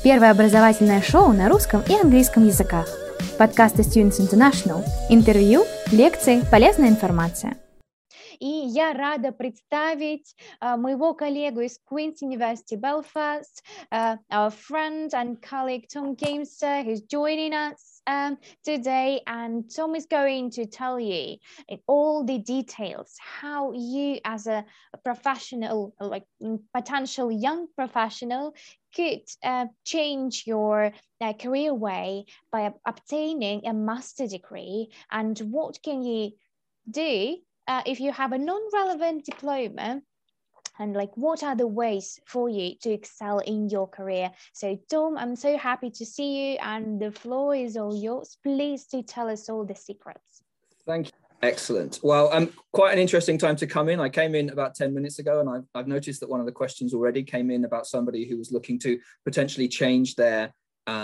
Первое образовательное шоу на русском и английском языках. Подкасты Students International. Интервью, лекции, полезная информация. И я рада представить моего коллегу из Queen's University Belfast, our friend and colleague Tom Gamester, who's joining us today. And Tom is going to tell you in all the details how you, as a professional, like potential young professional, could change your career way by obtaining a master degree, and what can you do if you have a non-relevant diploma, and like what are the ways for you to excel in your career. So Tom, I'm so happy to see you, and the floor is all yours. Please do tell us all the secrets. Thank you. Excellent. Well, quite an interesting time to come in. I came in about 10 minutes ago, and I've noticed that one of the questions already came in about somebody who was looking to potentially change their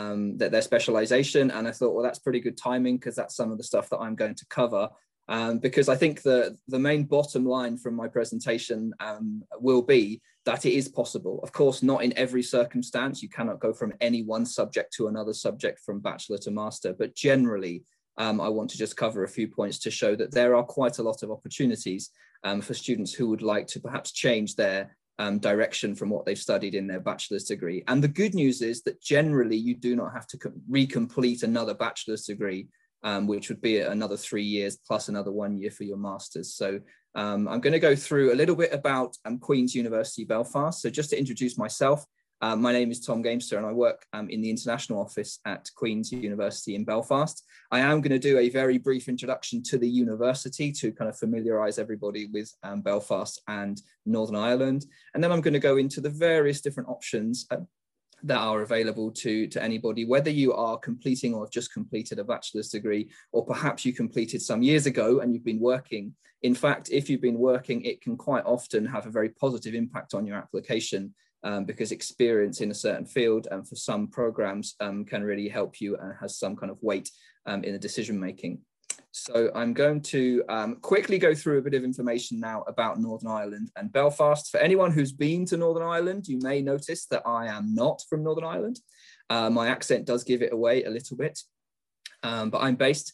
specialization. And I thought, well, that's pretty good timing, because that's some of the stuff that I'm going to cover. Because I think the main bottom line from my presentation will be that it is possible. Of course, not in every circumstance. You cannot go from any one subject to another subject from bachelor to master. But generally, I want to just cover a few points to show that there are quite a lot of opportunities for students who would like to perhaps change their direction from what they've studied in their bachelor's degree. And the good news is that generally you do not have to recomplete another bachelor's degree, which would be another 3 years plus another 1 year for your master's. So I'm going to go through a little bit about Queen's University Belfast. So just to introduce myself, my name is Tom Gamester, and I work in the international office at Queen's University in Belfast. I am going to do a very brief introduction to the university to kind of familiarise everybody with Belfast and Northern Ireland. And then I'm going to go into the various different options that are available to anybody, whether you are completing or have just completed a bachelor's degree, or perhaps you completed some years ago and you've been working. In fact, if you've been working, it can quite often have a very positive impact on your application, because experience in a certain field and for some programs can really help you and has some kind of weight in the decision making. So I'm going to quickly go through a bit of information now about Northern Ireland and Belfast. For anyone who's been to Northern Ireland, you may notice that I am not from Northern Ireland. My accent does give it away a little bit, but I'm based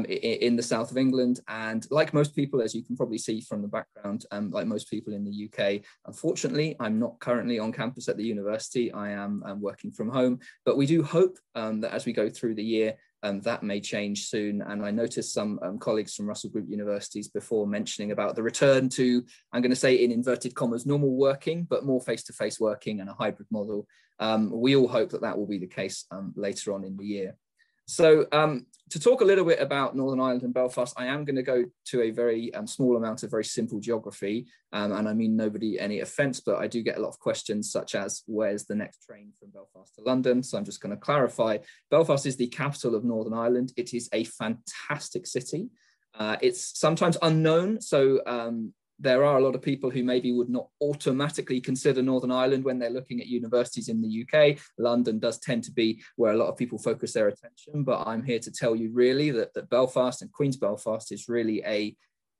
in the south of England. And like most people, as you can probably see from the background, like most people in the UK, unfortunately, I'm not currently on campus at the university. I am working from home, but we do hope that as we go through the year, that may change soon. And I noticed some colleagues from Russell Group universities before mentioning about the return to, I'm going to say in inverted commas, normal working, but more face-to-face working and a hybrid model. We all hope that that will be the case later on in the year. So to talk a little bit about Northern Ireland and Belfast, I am going to go to a very small amount of very simple geography. And I mean nobody any offence, but I do get a lot of questions such as, where's the next train from Belfast to London? So I'm just going to clarify. Belfast is the capital of Northern Ireland. It is a fantastic city. It's sometimes unknown. So there are a lot of people who maybe would not automatically consider Northern Ireland when they're looking at universities in the UK. London does tend to be where a lot of people focus their attention, but I'm here to tell you really that Belfast and Queen's Belfast is really a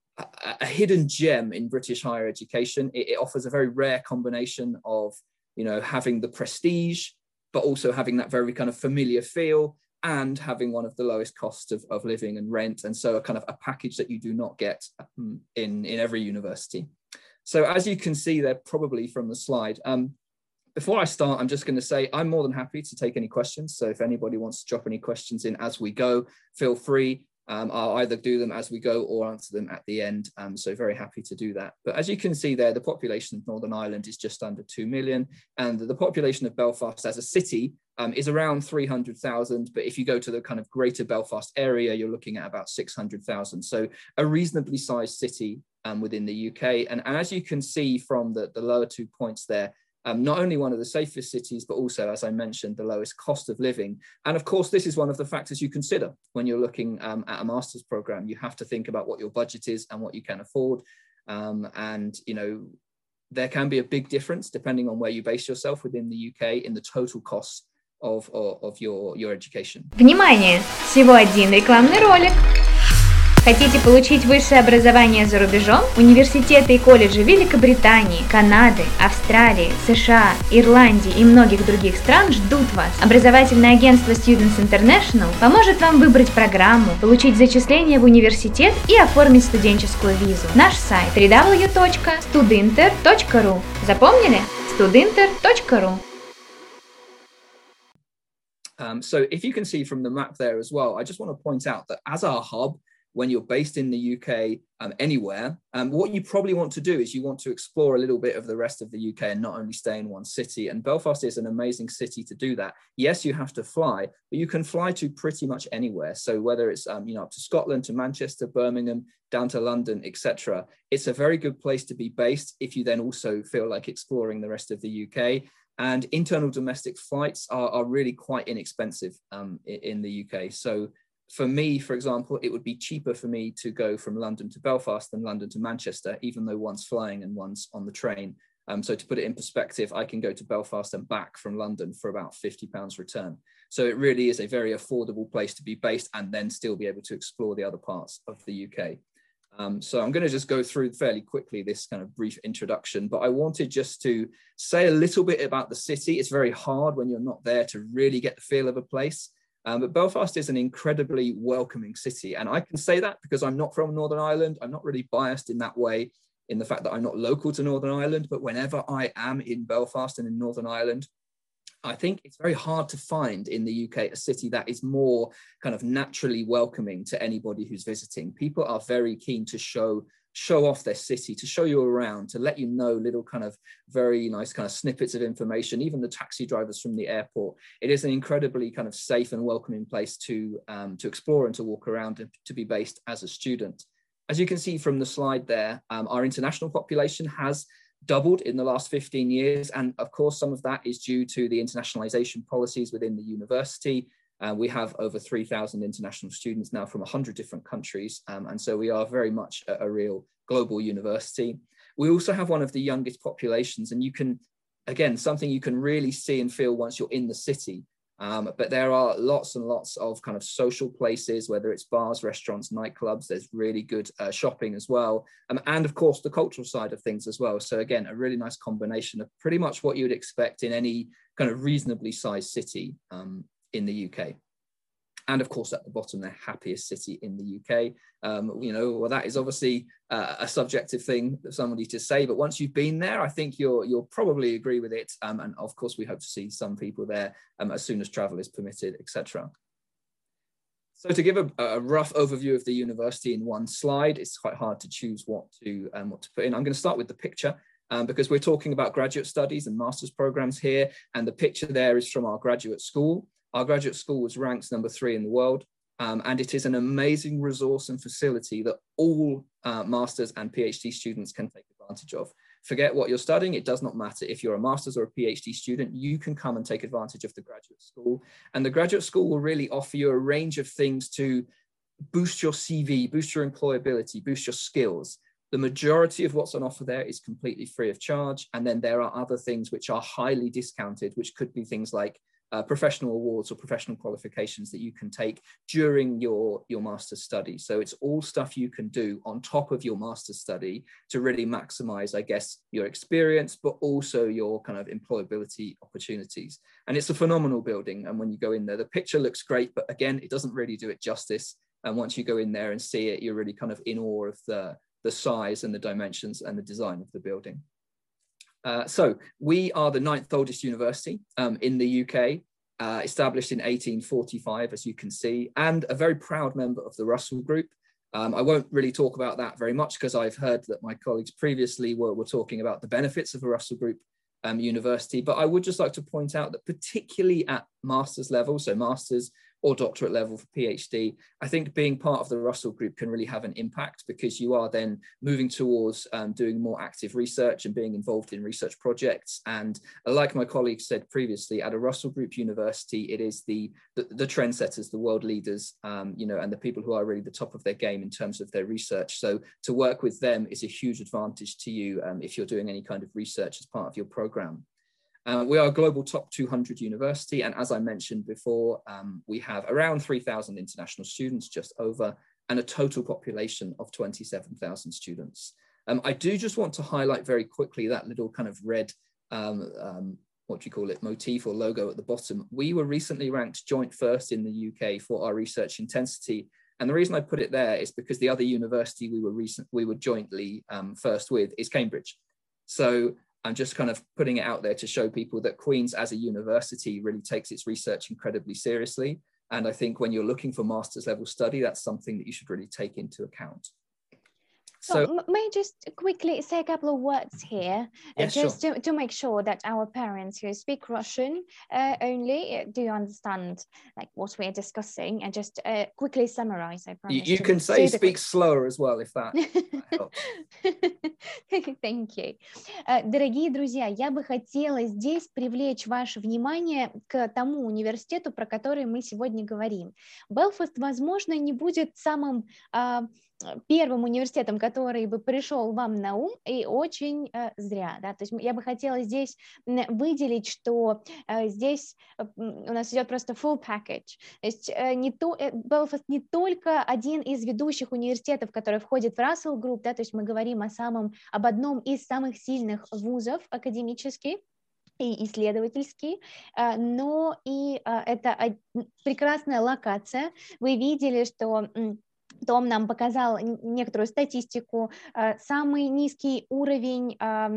hidden gem in British higher education. It offers a very rare combination of, you know, having the prestige, but also having that very kind of familiar feel, and having one of the lowest costs of living and rent. And so a kind of a package that you do not get in every university. So as you can see there, probably from the slide, before I start, I'm just going to say I'm more than happy to take any questions. So if anybody wants to drop any questions in as we go, feel free. I'll either do them as we go or answer them at the end. So very happy to do that. But as you can see there, the population of Northern Ireland is just under 2 million. And the population of Belfast as a city is around 300,000. But if you go to the kind of greater Belfast area, you're looking at about 600,000. So a reasonably sized city within the UK. And as you can see from the lower 2 points there, not only one of the safest cities, but also, as I mentioned, the lowest cost of living. And of course, this is one of the factors you consider when you're looking at a master's program. You have to think about what your budget is and what you can afford. And, you know, there can be a big difference depending on where you base yourself within the UK in the total cost of your education. Внимание! Всего один рекламный ролик. Хотите получить высшее образование за рубежом? Университеты и колледжи Великобритании, Канады, Австралии, США, Ирландии и многих других стран ждут вас. Образовательное агентство Students International поможет вам выбрать программу, получить зачисление в университет и оформить студенческую визу. Наш сайт www.studinter.ru. Запомнили? studinter.ru. So if you can see from the map there as well, I just want to point out that as our hub, when you're based in the UK, anywhere, what you probably want to do is you want to explore a little bit of the rest of the UK and not only stay in one city. And Belfast is an amazing city to do that. Yes, you have to fly, but you can fly to pretty much anywhere. So whether it's up to Scotland, to Manchester, Birmingham, down to London, etc., it's a very good place to be based if you then also feel like exploring the rest of the UK. And internal domestic flights are really quite inexpensive in the UK. So for me, for example, it would be cheaper for me to go from London to Belfast than London to Manchester, even though one's flying and one's on the train. So to put it in perspective, I can go to Belfast and back from London for about £50 return. So it really is a very affordable place to be based and then still be able to explore the other parts of the UK. So I'm going to just go through fairly quickly this kind of brief introduction, but I wanted just to say a little bit about the city. It's very hard when you're not there to really get the feel of a place. But Belfast is an incredibly welcoming city. And I can say that because I'm not from Northern Ireland. I'm not really biased in that way, in the fact that I'm not local to Northern Ireland. But whenever I am in Belfast and in Northern Ireland, I think it's very hard to find in the UK a city that is more kind of naturally welcoming to anybody who's visiting. People are very keen to show off their city, to show you around, to let you know little kind of very nice kind of snippets of information, even the taxi drivers from the airport. It is an incredibly kind of safe and welcoming place to explore and to walk around and to be based as a student. As you can see from the slide there, our international population has doubled in the last 15 years. And of course, some of that is due to the internationalization policies within the university. We have over 3,000 international students now from 100 different countries. And so we are very much a real global university. We also have one of the youngest populations, and you can, again, something you can really see and feel once you're in the city. But there are lots and lots of kind of social places, whether it's bars, restaurants, nightclubs. There's really good shopping as well. And of course, the cultural side of things as well. So again, a really nice combination of pretty much what you'd expect in any kind of reasonably sized city in the UK. And of course, at the bottom, the happiest city in the UK. Well, that is obviously a subjective thing for somebody to say, but once you've been there, I think you'll probably agree with it. And of course, we hope to see some people there as soon as travel is permitted, etc. So to give a rough overview of the university in one slide, it's quite hard to choose what to put in. I'm going to start with the picture. Because we're talking about graduate studies and master's programs here, and the picture there is from our graduate school. Our graduate school was ranked number 3 in the world, and it is an amazing resource and facility that all master's and PhD students can take advantage of. Forget what you're studying, it does not matter. If you're a master's or a PhD student, you can come and take advantage of the graduate school. And the graduate school will really offer you a range of things to boost your CV, boost your employability, boost your skills. The majority of what's on offer there is completely free of charge. And then there are other things which are highly discounted, which could be things like professional awards or professional qualifications that you can take during your master's study. So it's all stuff you can do on top of your master's study to really maximize, I guess, your experience, but also your kind of employability opportunities. And it's a phenomenal building. And when you go in there, the picture looks great, but again, it doesn't really do it justice. And once you go in there and see it, you're really kind of in awe of the size and the dimensions and the design of the building. So we are the 9th oldest university in the UK, established in 1845, as you can see, and a very proud member of the Russell Group. I won't really talk about that very much because I've heard that my colleagues previously were talking about the benefits of a Russell Group university, but I would just like to point out that particularly at master's level, so master's or doctorate level for PhD, I think being part of the Russell Group can really have an impact because you are then moving towards doing more active research and being involved in research projects. And like my colleagues said previously, at a Russell Group university, it is the trendsetters, the world leaders, and the people who are really the top of their game in terms of their research. So to work with them is a huge advantage to you if you're doing any kind of research as part of your program. We are a global top 200 university, and as I mentioned before, we have around 3,000 international students, just over, and a total population of 27,000 students. I do just want to highlight very quickly that little kind of red, what do you call it, motif or logo at the bottom. We were recently ranked joint first in the UK for our research intensity. And the reason I put it there is because the other university we were jointly first with is Cambridge. So I'm just kind of putting it out there to show people that Queen's as a university really takes its research incredibly seriously. And I think when you're looking for master's level study, that's something that you should really take into account. So may I just quickly say a couple of words here, yes, just sure. to make sure that our parents who speak Russian only do understand like what we are discussing, and just quickly summarize. I promise. You can say speak slower as well if that helps. Thank you. Дорогие друзья, я бы хотела здесь привлечь ваше внимание к тому университету, про который мы сегодня говорим. Белфаст, возможно, не будет самым первым университетом, который бы пришел вам на ум, и очень зря. Да? То есть я бы хотела здесь выделить, что здесь у нас идет просто full package. То есть Белфаст не только один из ведущих университетов, который входит в Russell Group, да? То есть мы говорим об одном из самых сильных вузов академических и исследовательский, но и это прекрасная локация. Вы видели, что Том нам показал некоторую статистику, самый низкий уровень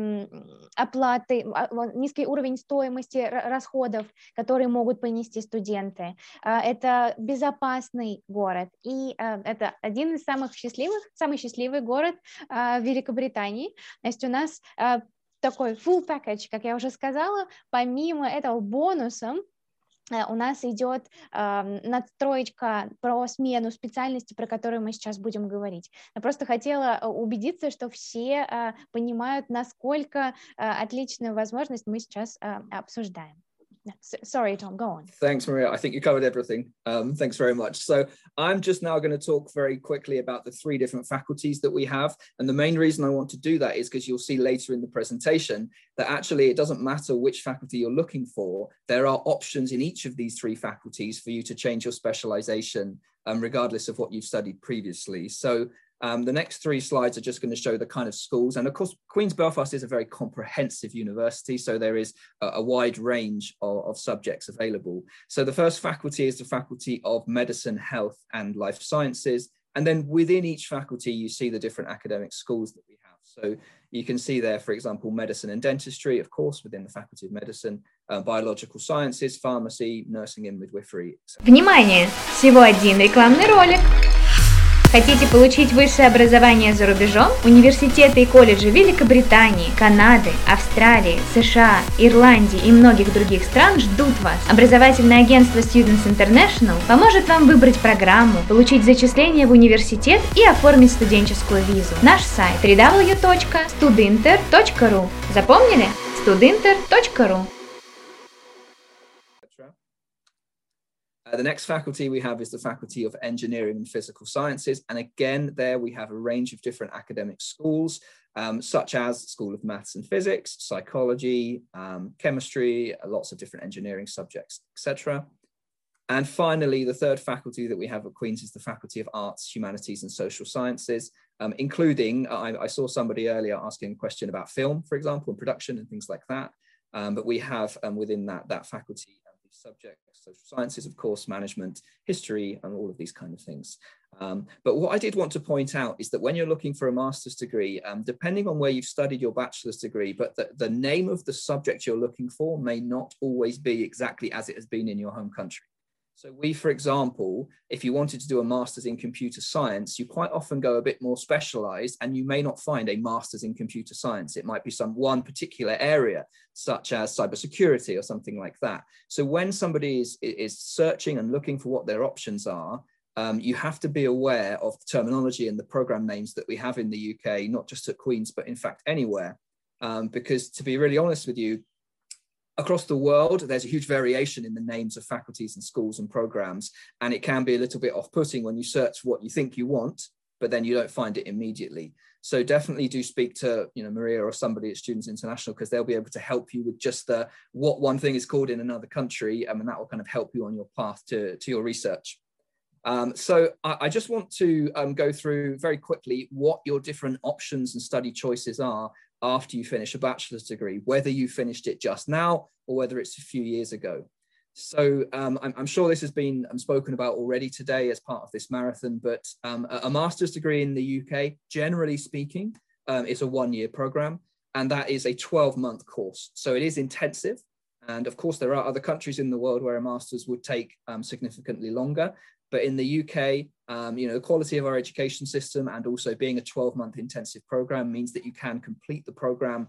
оплаты, низкий уровень стоимости расходов, которые могут понести студенты. Это безопасный город, и это один из самый счастливый город в Великобритании. То есть у нас такой full package, как я уже сказала, помимо этого бонусом, у нас идет надстроечка про смену специальности, про которую мы сейчас будем говорить. Я просто хотела убедиться, что все понимают, насколько отличную возможность мы сейчас обсуждаем. Sorry, Tom, go on. Thanks, Maria. I think you covered everything. Thanks very much. So I'm just now going to talk very quickly about the 3 different faculties that we have. And the main reason I want to do that is because you'll see later in the presentation that actually it doesn't matter which faculty you're looking for. There are options in each of these 3 faculties for you to change your specialization regardless of what you've studied previously. So the next 3 slides are just going to show the kind of schools. And of course, Queen's Belfast is a very comprehensive university, so there is a wide range of subjects available. So the first faculty is the Faculty of Medicine, Health and Life Sciences. And then within each faculty, you see the different academic schools that we have. So you can see there, for example, Medicine and Dentistry, of course, within the Faculty of Medicine, Biological Sciences, Pharmacy, Nursing and Midwifery. Внимание! Всего один рекламный ролик. Хотите получить высшее образование за рубежом? Университеты и колледжи Великобритании, Канады, Австралии, США, Ирландии и многих других стран ждут вас. Образовательное агентство Students International поможет вам выбрать программу, получить зачисление в университет и оформить студенческую визу. Наш сайт www.studinter.ru. Запомнили? studinter.ru. The next faculty we have is the Faculty of Engineering and Physical Sciences. And again, there we have a range of different academic schools, such as School of Maths and Physics, Psychology, Chemistry, lots of different engineering subjects, etc. And finally, the third faculty that we have at Queen's is the Faculty of Arts, Humanities and Social Sciences, including, I saw somebody earlier asking a question about film, for example, and production and things like that. But we have within that faculty, subjects, social sciences, of course, management, history, and all of these kind of things. But what I did want to point out is that when you're looking for a master's degree, depending on where you've studied your bachelor's degree, but the name of the subject you're looking for may not always be exactly as it has been in your home country. So we, for example, if you wanted to do a master's in computer science, you quite often go a bit more specialized and you may not find a master's in computer science. It might be one particular area, such as cybersecurity or something like that. So when somebody is searching and looking for what their options are, you have to be aware of the terminology and the program names that we have in the UK, not just at Queen's, but in fact anywhere. Because to be really honest with you, across the world, there's a huge variation in the names of faculties and schools and programs, and it can be a little bit off-putting when you search what you think you want, but then you don't find it immediately. So definitely do speak to Maria or somebody at Students International, because they'll be able to help you with just what one thing is called in another country, and that will kind of help you on your path to your research. So I just want to go through very quickly what your different options and study choices are after you finish a bachelor's degree, whether you finished it just now or whether it's a few years ago. So I'm sure this has been spoken about already today as part of this marathon, but a master's degree in the UK, generally speaking, is a one-year program, and that is a 12-month course. So it is intensive. And of course, there are other countries in the world where a master's would take significantly longer. But in the UK, the quality of our education system and also being a 12-month intensive program means that you can complete the program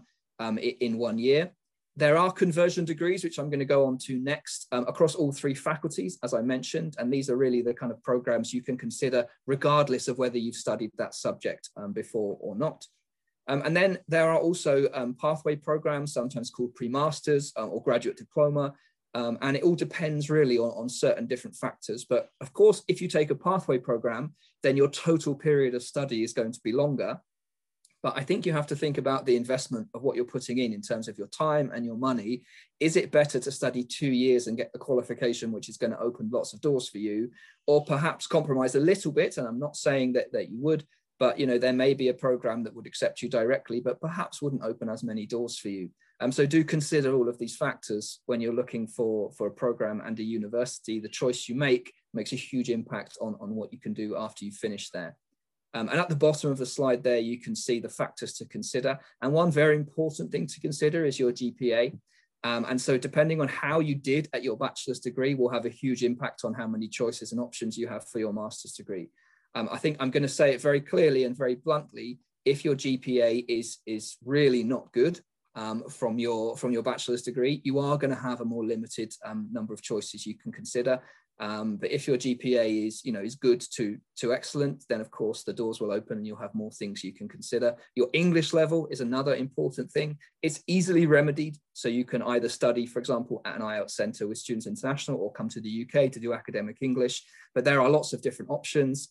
in 1 year. There are conversion degrees, which I'm going to go on to next, across all three faculties, as I mentioned, and these are really the kind of programs you can consider regardless of whether you've studied that subject before or not. And then there are also pathway programs, sometimes called pre-masters or graduate diploma, and it all depends really on certain different factors. But of course, if you take a pathway program, then your total period of study is going to be longer. But I think you have to think about the investment of what you're putting in terms of your time and your money. Is it better to study 2 years and get the qualification, which is going to open lots of doors for you, or perhaps compromise a little bit? And I'm not saying that you would, but there may be a program that would accept you directly, but perhaps wouldn't open as many doors for you. So do consider all of these factors when you're looking for a program and a university. The choice you make makes a huge impact on what you can do after you finish there. And at the bottom of the slide there, you can see the factors to consider. And one very important thing to consider is your GPA. And so depending on how you did at your bachelor's degree will have a huge impact on how many choices and options you have for your master's degree. I think I'm going to say it very clearly and very bluntly. If your GPA is really not good from your bachelor's degree, you are going to have a more limited number of choices you can consider. But if your GPA is good to excellent, then of course the doors will open and you'll have more things you can consider. Your English level is another important thing. It's easily remedied, so you can either study, for example, at an IELTS centre with Students International or come to the UK to do academic English. But there are lots of different options.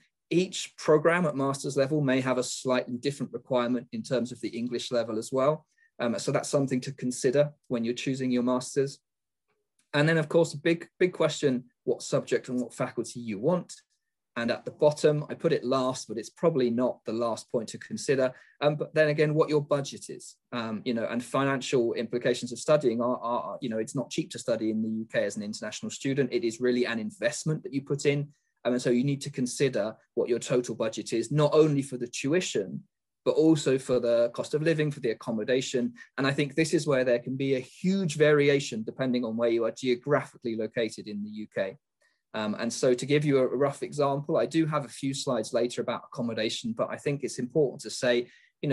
Each program at master's level may have a slightly different requirement in terms of the English level as well. So that's something to consider when you're choosing your master's. And then, of course, a big question, what subject and what faculty you want. And at the bottom, I put it last, but it's probably not the last point to consider. But then again, what your budget is, and financial implications of studying are, it's not cheap to study in the UK as an international student. It is really an investment that you put in. And so you need to consider what your total budget is, not only for the tuition, but also for the cost of living, for the accommodation. And I think this is where there can be a huge variation depending on where you are geographically located in the UK. And so to give you a rough example, I do have a few slides later about accommodation, but I think it's important to say,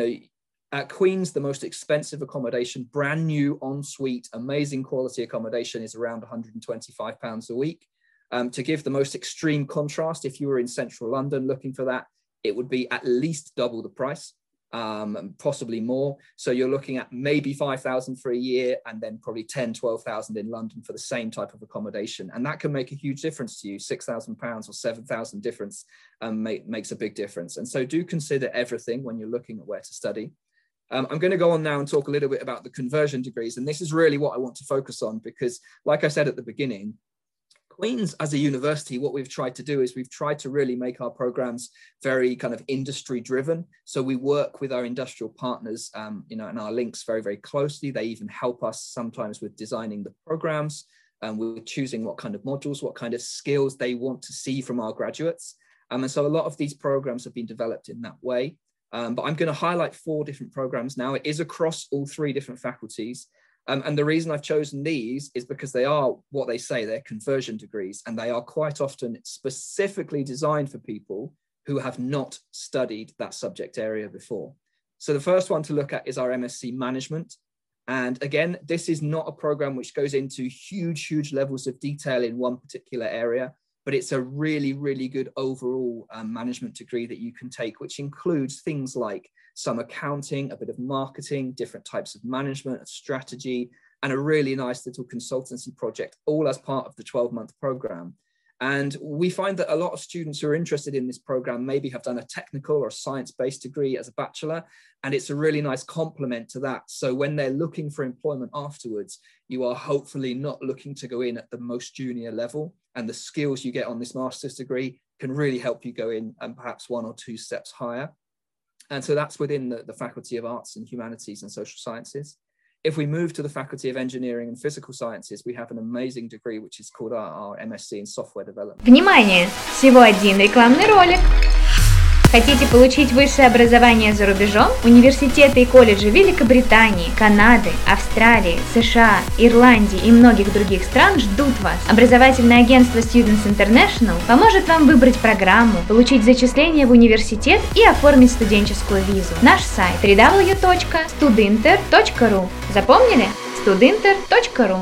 at Queen's, the most expensive accommodation, brand new ensuite, amazing quality accommodation is around £125 a week. To give the most extreme contrast, if you were in central London looking for that, it would be at least double the price, possibly more. So you're looking at maybe 5,000 for a year and then probably 10, 12,000 in London for the same type of accommodation. And that can make a huge difference to you. £6,000 or 7,000 difference makes a big difference. And so do consider everything when you're looking at where to study. I'm going to go on now and talk a little bit about the conversion degrees. And this is really what I want to focus on because, like I said at the beginning, Queen's as a university, what we've tried to do is we've tried to really make our programs very kind of industry driven. So we work with our industrial partners, and our links very, very closely. They even help us sometimes with designing the programs and we're choosing what kind of modules, what kind of skills they want to see from our graduates. And so a lot of these programs have been developed in that way. But I'm going to highlight 4 different programs now. It is across all 3 different faculties. And the reason I've chosen these is because they are what they say, they're conversion degrees, and they are quite often specifically designed for people who have not studied that subject area before. So the first one to look at is our MSc Management. And again, this is not a program which goes into huge levels of detail in one particular area, but it's a really, really good overall management degree that you can take, which includes things like some accounting, a bit of marketing, different types of management, strategy, and a really nice little consultancy project, all as part of the 12-month program. And we find that a lot of students who are interested in this program maybe have done a technical or science-based degree as a bachelor, and it's a really nice complement to that. So when they're looking for employment afterwards, you are hopefully not looking to go in at the most junior level, and the skills you get on this master's degree can really help you go in and perhaps 1 or 2 steps higher. And so that's within the Faculty of Arts and Humanities and Social Sciences. If we move to the Faculty of Engineering and Physical Sciences, we have an amazing degree which is called our MSc in Software Development. Внимание! Всего один рекламный ролик. Хотите получить высшее образование за рубежом? Университеты и колледжи Великобритании, Канады, Австралии, США, Ирландии и многих других стран ждут вас. Образовательное агентство Students International поможет вам выбрать программу, получить зачисление в университет и оформить студенческую визу. Наш сайт www.studinter.ru. Запомнили? studinter.ru.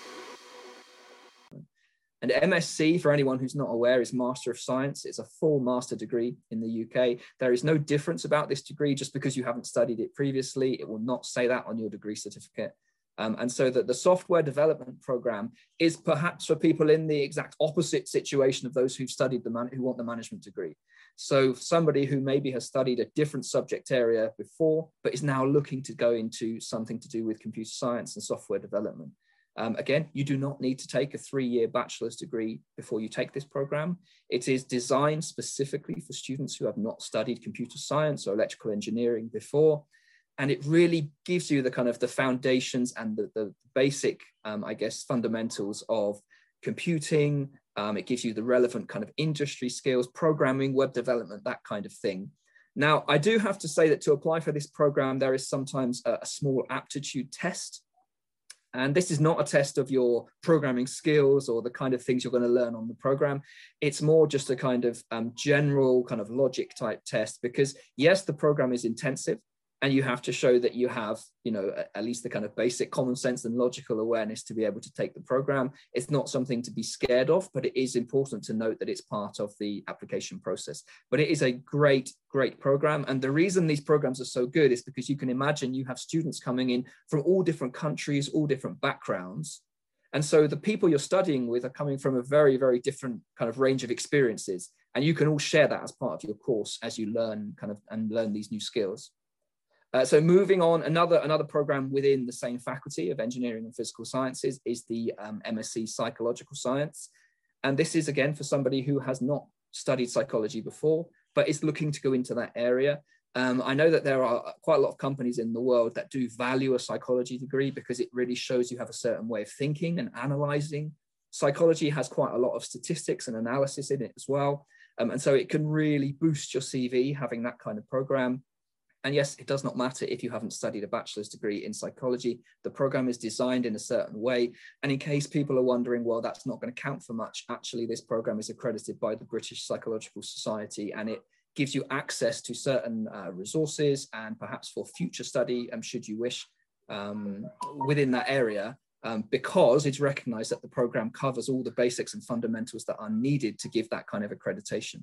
And MSc, for anyone who's not aware, is Master of Science. It's a full master degree in the UK. There is no difference about this degree just because you haven't studied it previously. It will not say that on your degree certificate. And so that the software development program is perhaps for people in the exact opposite situation of those who've studied who want the management degree. So somebody who maybe has studied a different subject area before, but is now looking to go into something to do with computer science and software development. Again, you do not need to take a 3-year bachelor's degree before you take this program. It is designed specifically for students who have not studied computer science or electrical engineering before. And it really gives you the kind of the foundations and the basic, I guess, fundamentals of computing. It gives you the relevant kind of industry skills, programming, web development, that kind of thing. Now, I do have to say that to apply for this program, there is sometimes a small aptitude test. And this is not a test of your programming skills or the kind of things you're going to learn on the program. It's more just a kind of general kind of logic type test, because yes, the program is intensive and you have to show that you have, you know, at least the kind of basic common sense and logical awareness to be able to take the program. It's not something to be scared of, but it is important to note that it's part of the application process. But it is a great, great program. And the reason these programs are so good is because you can imagine you have students coming in from all different countries, all different backgrounds. And so the people you're studying with are coming from a very, very different kind of range of experiences. And you can all share that as part of your course as you learn learn these new skills. So moving on, another program within the same Faculty of Engineering and Physical Sciences is the MSc Psychological Science. And this is, again, for somebody who has not studied psychology before, but is looking to go into that area. I know that there are quite a lot of companies in the world that do value a psychology degree because it really shows you have a certain way of thinking and analyzing. Psychology has quite a lot of statistics and analysis in it as well. And so it can really boost your CV having that kind of program. And yes, it does not matter if you haven't studied a bachelor's degree in psychology. The program is designed in a certain way. And in case people are wondering, well, that's not going to count for much, actually, this program is accredited by the British Psychological Society, and it gives you access to certain resources and perhaps for future study, should you wish, within that area, because it's recognized that the program covers all the basics and fundamentals that are needed to give that kind of accreditation.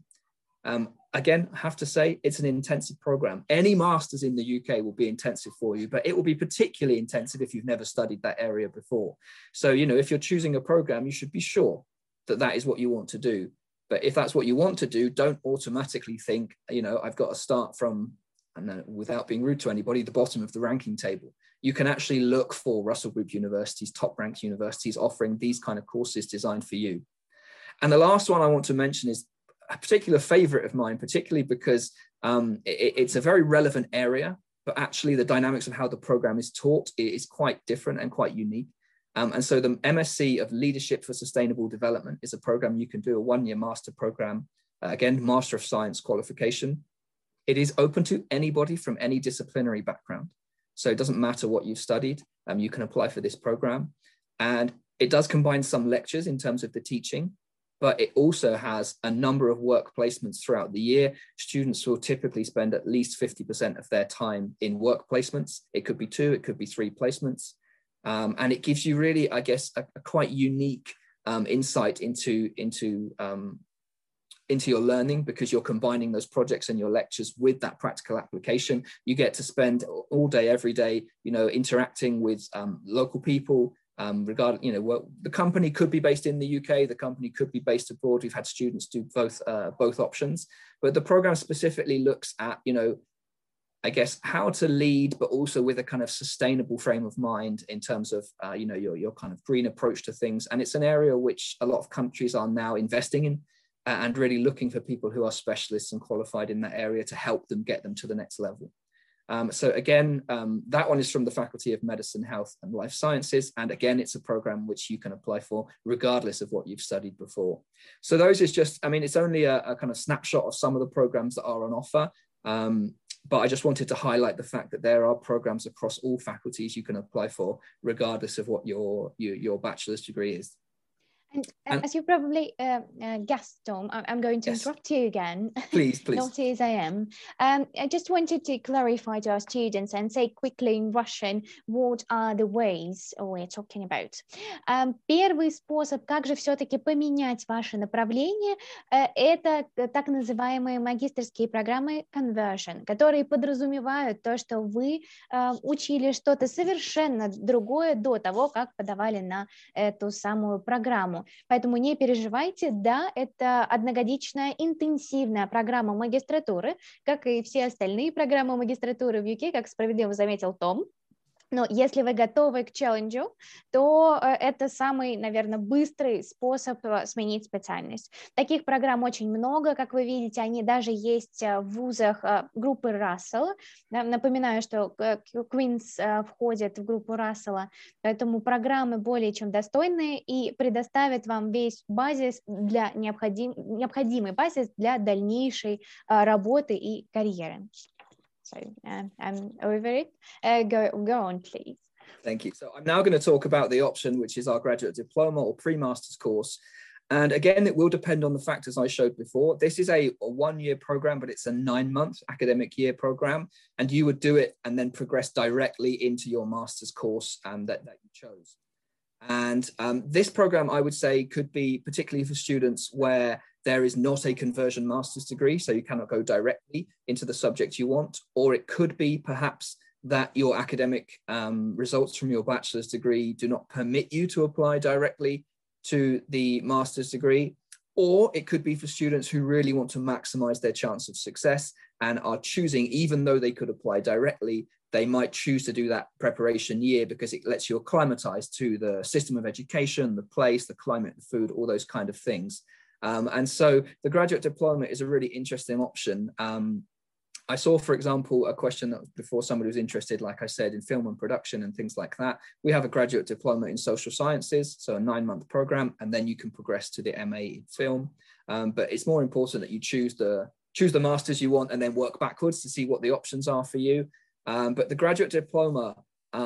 Again, I have to say, it's an intensive program. Any master's in the UK will be intensive for you, but it will be particularly intensive if you've never studied that area before. So, you know, if you're choosing a program, you should be sure that that is what you want to do. But if that's what you want to do, don't automatically think, you know, I've got to start from, and without being rude to anybody, the bottom of the ranking table. You can actually look for Russell Group universities, top ranked universities offering these kind of courses designed for you. And the last one I want to mention is a particular favorite of mine, particularly because it's a very relevant area, but actually the dynamics of how the program is taught is quite different and quite unique. And so the MSc of Leadership for Sustainable Development is a program you can do, a 1-year master program, again, Master of Science qualification. It is open to anybody from any disciplinary background. So it doesn't matter what you've studied, you can apply for this program. And it does combine some lectures in terms of the teaching, but it also has a number of work placements throughout the year. Students will typically spend at least 50% of their time in work placements. It could be 2, it could be 3 placements. And it gives you really, I guess, a quite unique insight into your learning, because you're combining those projects and your lectures with that practical application. You get to spend all day, every day, you know, interacting with local people, Regarding, the company could be based in the UK, the company could be based abroad. We've had students do both options, but the program specifically looks at, I guess, how to lead, but also with a kind of sustainable frame of mind in terms of, your kind of green approach to things. And it's an area which a lot of countries are now investing in and really looking for people who are specialists and qualified in that area to help them get them to the next level. So again, that one is from the Faculty of Medicine, Health and Life Sciences. And again, it's a program which you can apply for regardless of what you've studied before. So those is just, it's only a kind of snapshot of some of the programs that are on offer. But I just wanted to highlight the fact that there are programs across all faculties you can apply for, regardless of what your bachelor's degree is. And as you probably guessed, Tom, I'm going to interrupt you again. Please. Naughty as I am. I just wanted to clarify to our students and say quickly in Russian, what are the ways we're talking about. Первый способ, как же все-таки поменять ваше направление, это так называемые магистерские программы conversion, которые подразумевают то, что вы учили что-то совершенно другое до того, как подавали на эту самую программу. Поэтому не переживайте, да, это одногодичная интенсивная программа магистратуры, как и все остальные программы магистратуры в UK, как справедливо заметил Том. Но если вы готовы к челленджу, то это самый, наверное, быстрый способ сменить специальность. Таких программ очень много, как вы видите, они даже есть в вузах группы Рассела. Напоминаю, что Queen's входит в группу Рассела, поэтому программы более чем достойные и предоставят вам весь базис для необходимый базис для дальнейшей работы и карьеры. So I'm over it. Go on, please. Thank you. So I'm now going to talk about the option, which is our graduate diploma or pre-master's course. And again, it will depend on the factors I showed before. This is a 1-year program, but it's a 9-month academic year program. And you would do it and then progress directly into your master's course that you chose. And this program, I would say, could be particularly for students where there is not a conversion master's degree, so you cannot go directly into the subject you want, or it could be perhaps that your academic results from your bachelor's degree do not permit you to apply directly to the master's degree, or it could be for students who really want to maximize their chance of success and are choosing, even though they could apply directly, they might choose to do that preparation year because it lets you acclimatize to the system of education, the place, the climate, the food, all those kind of things. And so the graduate diploma is a really interesting option. I saw, for example, a question that before somebody was interested, like I said, in film and production and things like that. We have a graduate diploma in social sciences, so a 9-month program, and then you can progress to the MA in film. But it's more important that you choose the masters you want and then work backwards to see what the options are for you. But the graduate diploma,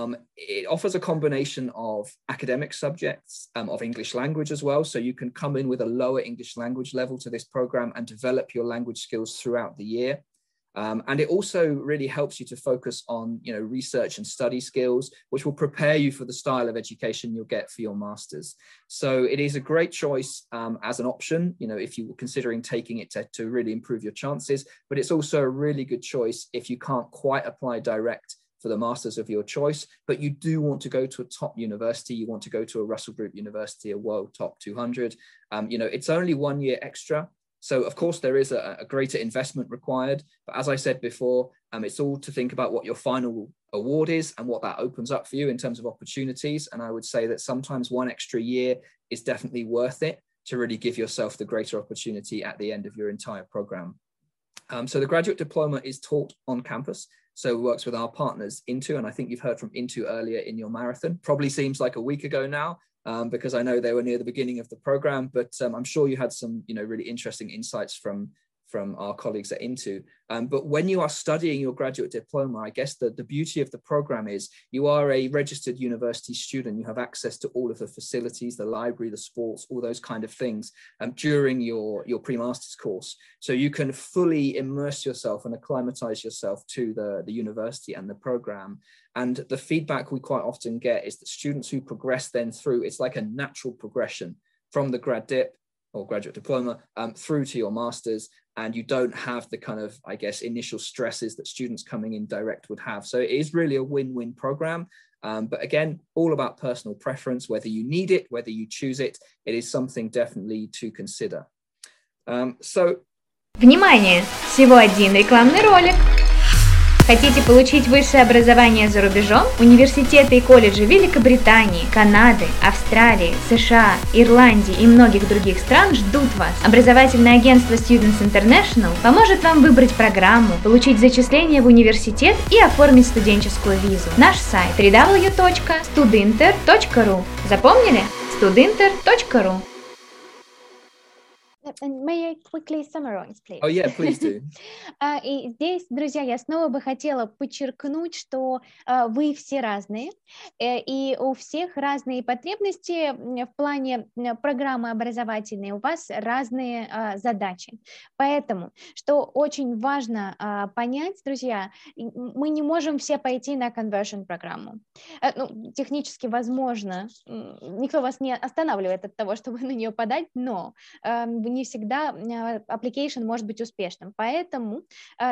it offers a combination of academic subjects, of English language as well. So you can come in with a lower English language level to this program and develop your language skills throughout the year. And it also really helps you to focus on, research and study skills, which will prepare you for the style of education you'll get for your master's. So it is a great choice as an option, if you were considering taking it to really improve your chances, but it's also a really good choice if you can't quite apply direct for the masters of your choice, but you do want to go to a top university, you want to go to a Russell Group University, a World Top 200, it's only 1 year extra. So of course there is a greater investment required, but as I said before, it's all to think about what your final award is and what that opens up for you in terms of opportunities. And I would say that sometimes 1 extra year is definitely worth it to really give yourself the greater opportunity at the end of your entire program. So the graduate diploma is taught on campus. So it works with our partners Into, and I think you've heard from Into earlier in your marathon. Probably seems like a week ago now, because I know they were near the beginning of the program, but I'm sure you had some, really interesting insights from our colleagues at Into. But when you are studying your graduate diploma, I guess the beauty of the program is you are a registered university student. You have access to all of the facilities, the library, the sports, all those kind of things during your pre-master's course. So you can fully immerse yourself and acclimatize yourself to the university and the program. And the feedback we quite often get is that students who progress then through, it's like a natural progression from the grad dip or graduate diploma through to your master's, and you don't have the kind of, I guess, initial stresses that students coming in direct would have. So it is really a win-win program. But again, all about personal preference, whether you need it, whether you choose it, it is something definitely to consider. Внимание! Всего один рекламный ролик. Хотите получить высшее образование за рубежом? Университеты и колледжи Великобритании, Канады, Австралии, США, Ирландии и многих других стран ждут вас. Образовательное агентство Students International поможет вам выбрать программу, получить зачисление в университет и оформить студенческую визу. Наш сайт www.studinter.ru. Запомнили? studinter.ru. May I quickly summarize, please? Oh, yeah, please do. И здесь, друзья, я снова бы хотела подчеркнуть, что вы все разные, и у всех разные потребности в плане программы образовательной, у вас разные задачи. Поэтому, что очень важно понять, друзья, мы не можем все пойти на conversion программу. Ну, технически возможно, никто вас не останавливает от того, чтобы на нее подать, но не всегда application может быть успешным. Поэтому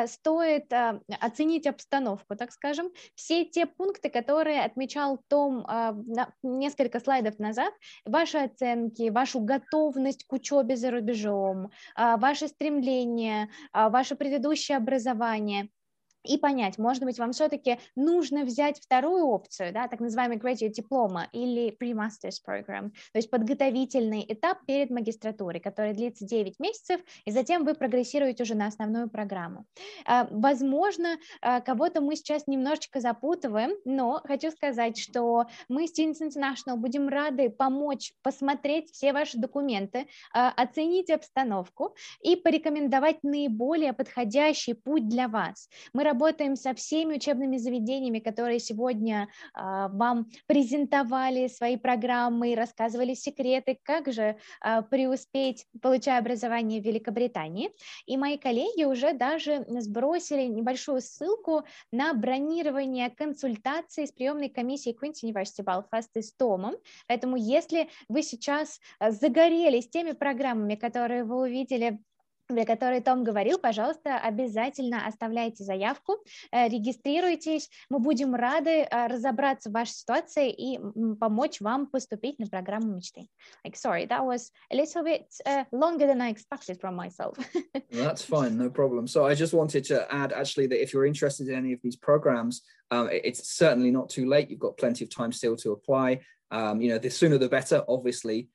стоит оценить обстановку, так скажем. Все те пункты, которые отмечал Том несколько слайдов назад, ваши оценки, вашу готовность к учебе за рубежом, ваше стремление, ваше предыдущее образование. И понять, может быть, вам все-таки нужно взять вторую опцию, да, так называемый graduate diploma или pre-master's program, то есть подготовительный этап перед магистратурой, который длится 9 месяцев, и затем вы прогрессируете уже на основную программу. Возможно, кого-то мы сейчас немножечко запутываем, но хочу сказать, что мы, Students International, будем рады помочь посмотреть все ваши документы, оценить обстановку и порекомендовать наиболее подходящий путь для вас. Мы работаем со всеми учебными заведениями, которые сегодня вам презентовали свои программы и рассказывали секреты, как же преуспеть, получая образование в Великобритании. И мои коллеги уже даже сбросили небольшую ссылку на бронирование консультаций с приемной комиссией Queen's University Belfast и с Томом. Поэтому если вы сейчас загорелись теми программами, которые вы увидели, про которые Том говорил, пожалуйста, обязательно оставляйте заявку, регистрируйтесь. Мы будем рады разобраться в вашей ситуации и помочь вам поступить на программу мечты. Sorry, that was a little bit longer than I expected from myself. That's fine, no problem. So I just wanted to add actually that if you're interested in any of these programs, it's certainly not too late. You've got plenty of time still to apply. The sooner the better, obviously.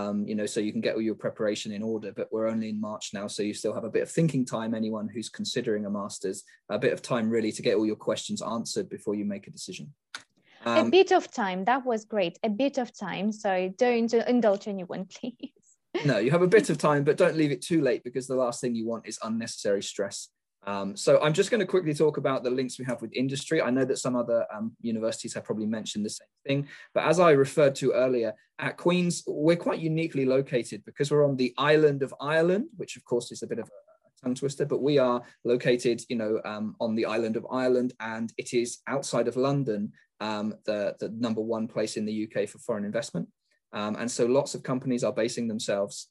So you can get all your preparation in order, but we're only in March now, so you still have a bit of thinking time, anyone who's considering a master's, a bit of time really to get all your questions answered before you make a decision. A bit of time, that was great, a bit of time, so don't indulge anyone, please. No, you have a bit of time, but don't leave it too late because the last thing you want is unnecessary stress. So I'm just going to quickly talk about the links we have with industry. I know that some other universities have probably mentioned the same thing, but as I referred to earlier, at Queen's, we're quite uniquely located because we're on the island of Ireland, which of course is a bit of a tongue twister, but we are located, on the island of Ireland, and it is outside of London, the number one place in the UK for foreign investment. And so lots of companies are basing themselves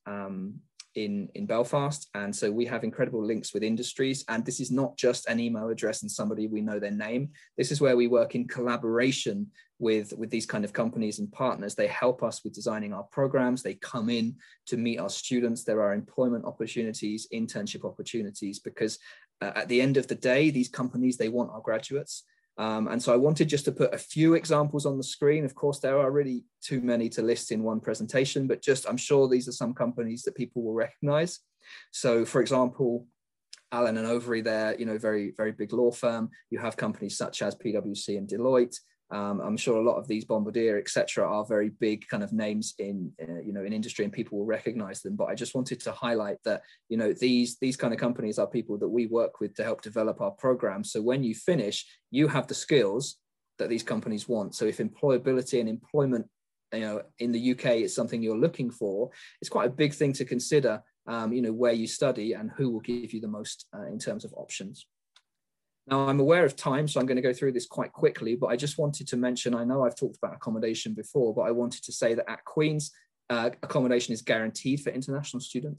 in Belfast, and so we have incredible links with industries, and this is not just an email address and somebody we know their name. This is where we work in collaboration with these kind of companies and partners. They help us with designing our programs. They come in to meet our students. There are employment opportunities, internship opportunities, because at the end of the day, these companies, they want our graduates. And so I wanted just to put a few examples on the screen. Of course, there are really too many to list in one presentation, but I'm sure these are some companies that people will recognize. So for example, Allen and Overy, they're, very, very big law firm. You have companies such as PwC and Deloitte. I'm sure a lot of these Bombardier, etc., are very big kind of names in industry, and people will recognize them. But I just wanted to highlight that, these kind of companies are people that we work with to help develop our programs. So when you finish, you have the skills that these companies want. So if employability and employment, in the UK is something you're looking for, it's quite a big thing to consider, where you study and who will give you the most in terms of options. Now, I'm aware of time, so I'm going to go through this quite quickly, but I just wanted to mention, I know I've talked about accommodation before, but I wanted to say that at Queen's, accommodation is guaranteed for international students.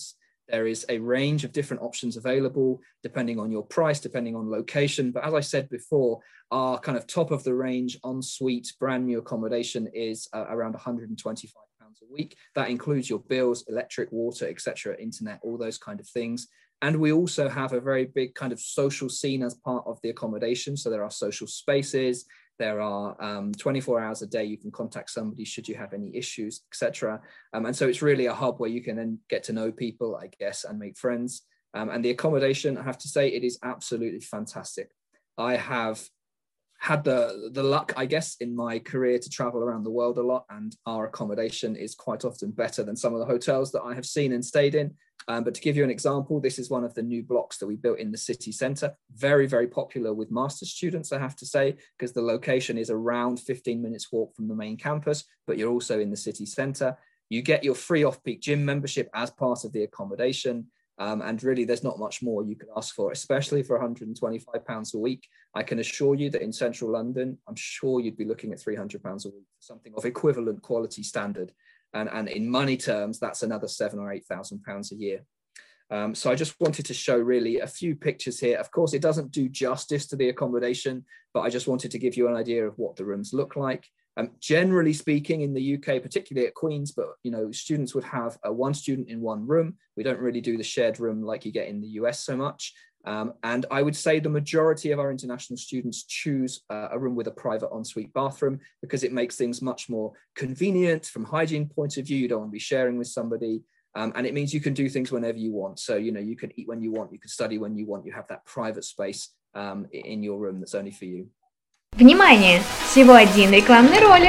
There is a range of different options available depending on your price, depending on location. But as I said before, our kind of top of the range ensuite brand new accommodation is around £125 a week. That includes your bills, electric, water, etc., internet, all those kind of things. And we also have a very big kind of social scene as part of the accommodation. So there are social spaces. There are 24 hours a day you can contact somebody should you have any issues, etc. And so it's really a hub where you can then get to know people, I guess, and make friends. And the accommodation, I have to say, it is absolutely fantastic. I have had the luck, I guess, in my career to travel around the world a lot, and our accommodation is quite often better than some of the hotels that I have seen and stayed in. But to give you an example, this is one of the new blocks that we built in the city centre. Very, very popular with master's students, I have to say, because the location is around 15 minutes walk from the main campus, but you're also in the city centre. You get your free off-peak gym membership as part of the accommodation. And really, there's not much more you could ask for, especially for £125 a week. I can assure you that in central London, I'm sure you'd be looking at £300 a week for something of equivalent quality standard. And in money terms, that's another £7,000 or £8,000 a year. So I just wanted to show really a few pictures here. Of course, it doesn't do justice to the accommodation, but I just wanted to give you an idea of what the rooms look like. Generally speaking, in the UK, particularly at Queen's, but students would have one student in one room. We don't really do the shared room like you get in the US so much. And I would say the majority of our international students choose a room with a private ensuite bathroom because it makes things much more convenient from hygiene point of view. You don't want to be sharing with somebody. And it means you can do things whenever you want. So, you can eat when you want, you can study when you want, you have that private space in your room that's only for you. Внимание! Всего один рекламный ролик.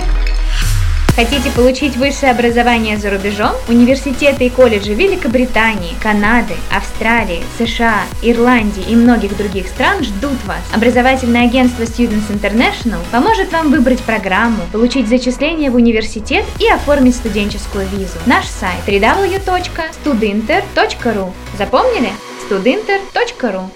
Хотите получить высшее образование за рубежом? Университеты и колледжи Великобритании, Канады, Австралии, США, Ирландии и многих других стран ждут вас. Образовательное агентство Students International поможет вам выбрать программу, получить зачисление в университет и оформить студенческую визу. Наш сайт www.studinter.ru. Запомнили? studinter.ru.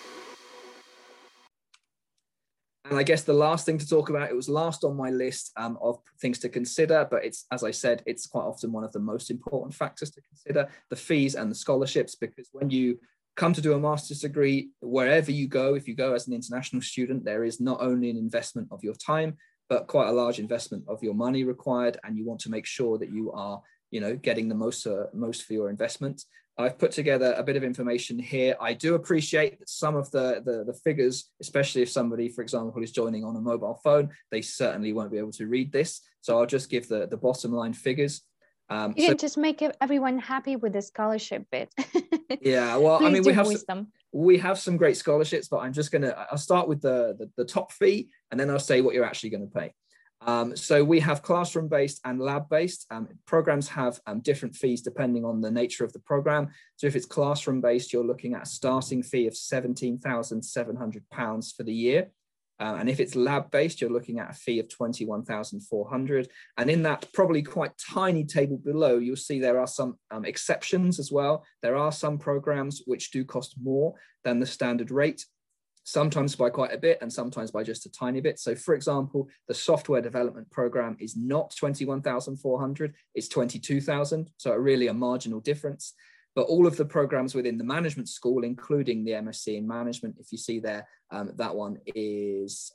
And I guess the last thing to talk about, it was last on my list of things to consider, but it's, as I said, it's quite often one of the most important factors to consider, the fees and the scholarships, because when you come to do a master's degree, wherever you go, if you go as an international student, there is not only an investment of your time, but quite a large investment of your money required. And you want to make sure that you are, getting the most for your investment. I've put together a bit of information here. I do appreciate that some of the figures, especially if somebody, for example, is joining on a mobile phone, they certainly won't be able to read this. So I'll just give the bottom line figures. You can just make everyone happy with the scholarship bit. Yeah, well, Please, I mean, we have some great scholarships, but I'll start with the top fee, and then I'll say what you're actually going to pay. So we have classroom-based and lab-based. Programs have different fees depending on the nature of the program. So if it's classroom-based, you're looking at a starting fee of £17,700 for the year. And if it's lab-based, you're looking at a fee of £21,400. And in that probably quite tiny table below, you'll see there are some exceptions as well. There are some programs which do cost more than the standard rate, sometimes by quite a bit and sometimes by just a tiny bit. So for example, the software development program is not 21,400, it's 22,000. So really a marginal difference. But all of the programs within the management school, including the MSc in management, if you see there, that one is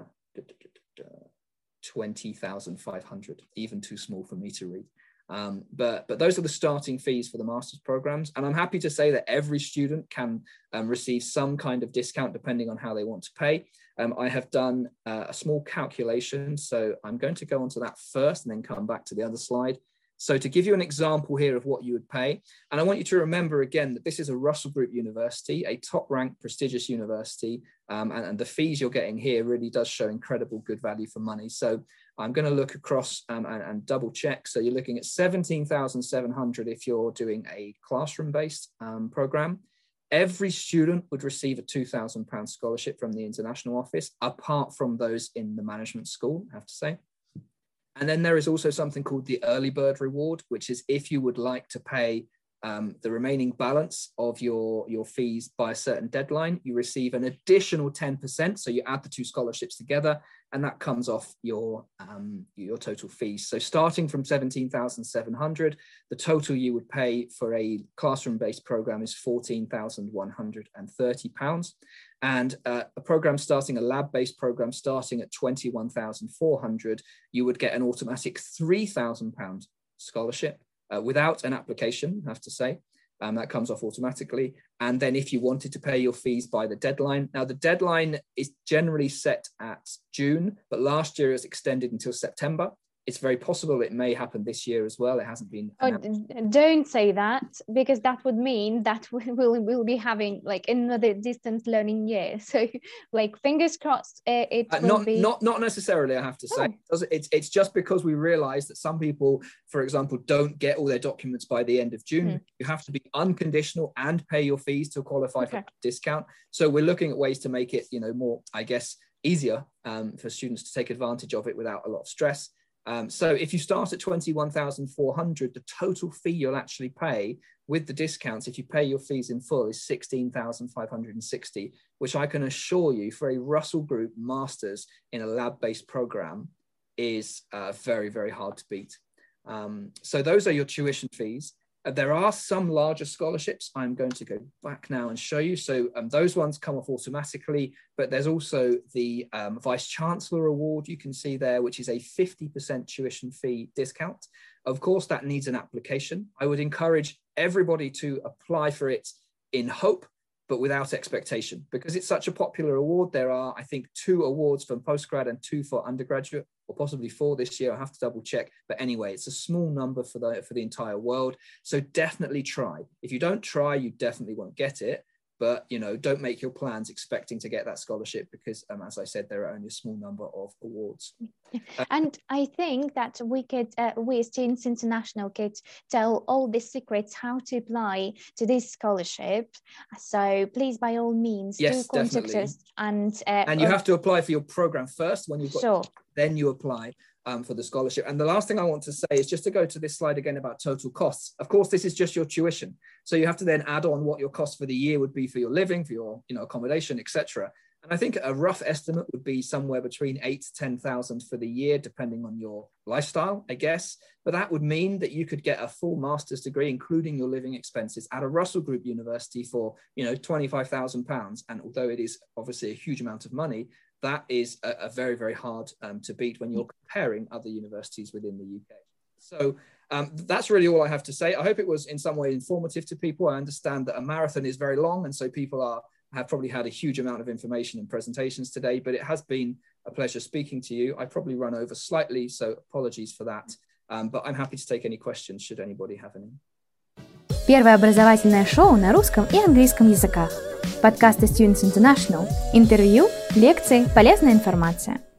20,500, even too small for me to read. But those are the starting fees for the master's programs. And I'm happy to say that every student can receive some kind of discount depending on how they want to pay. I have done a small calculation. So I'm going to go on to that first and then come back to the other slide. So to give you an example here of what you would pay, and I want you to remember again that this is a Russell Group university, a top-ranked prestigious university, and the fees you're getting here really does show incredible good value for money. So I'm going to look across and double check. So you're looking at 17,700 if you're doing a classroom-based program. Every student would receive a £2,000 scholarship from the international office, apart from those in the management school, I have to say. And then there is also something called the early bird reward, which is if you would like to pay the remaining balance of your fees by a certain deadline, you receive an additional 10%. So you add the two scholarships together, and that comes off your total fees. So starting from 17,700, the total you would pay for a classroom-based program is £14,130. And a lab-based program starting at 21,400, you would get an automatic £3,000 scholarship. Without an application, I have to say, that comes off automatically. And then if you wanted to pay your fees by the deadline, now the deadline is generally set at June, but last year it was extended until September. It's very possible it may happen this year as well. It hasn't been announced. Don't say that, because that would mean that we'll be having like another distance learning year. So like fingers crossed it will be. Not necessarily, I have to say. It's just because we realize that some people, for example, don't get all their documents by the end of June. You have to be unconditional and pay your fees to qualify for a discount. So we're looking at ways to make it, more, I guess, easier for students to take advantage of it without a lot of stress. So if you start at 21,400, the total fee you'll actually pay with the discounts, if you pay your fees in full, is 16,560, which I can assure you for a Russell Group Masters in a lab-based program is very, very hard to beat. So those are your tuition fees. There are some larger scholarships. I'm going to go back now and show you. So those ones come off automatically, but there's also the Vice Chancellor Award you can see there, which is a 50% tuition fee discount. Of course, that needs an application. I would encourage everybody to apply for it in hope, but without expectation, because it's such a popular award. There are, I think, 2 awards for postgrad and 2 for undergraduate, or possibly 4 this year. I have to double check. But anyway, it's a small number for the entire world. So definitely try. If you don't try, you definitely won't get it. But, don't make your plans expecting to get that scholarship, because, as I said, there are only a small number of awards. And I think that we as Students International could tell all the secrets how to apply to this scholarship. So please, by all means, do contact us. And you have to apply for your program first. When you've got, then you apply for the scholarship. And the last thing I want to say is just to go to this slide again about total costs. Of course, this is just your tuition. So you have to then add on what your cost for the year would be for your living, for your accommodation, etc. And I think a rough estimate would be somewhere between 8,000 to 10,000 for the year, depending on your lifestyle, I guess. But that would mean that you could get a full master's degree, including your living expenses, at a Russell Group university for, £25,000. And although it is obviously a huge amount of money, that is a very, very hard to beat when you're comparing other universities within the UK. So that's really all I have to say. I hope it was in some way informative to people. I understand that a marathon is very long, and so people have probably had a huge amount of information and presentations today, but it has been a pleasure speaking to you. I probably run over slightly, so apologies for that. But I'm happy to take any questions should anybody have any. Первое образовательное шоу на русском и английском языках. Подкасты Students International. Интервью, лекции, полезная информация.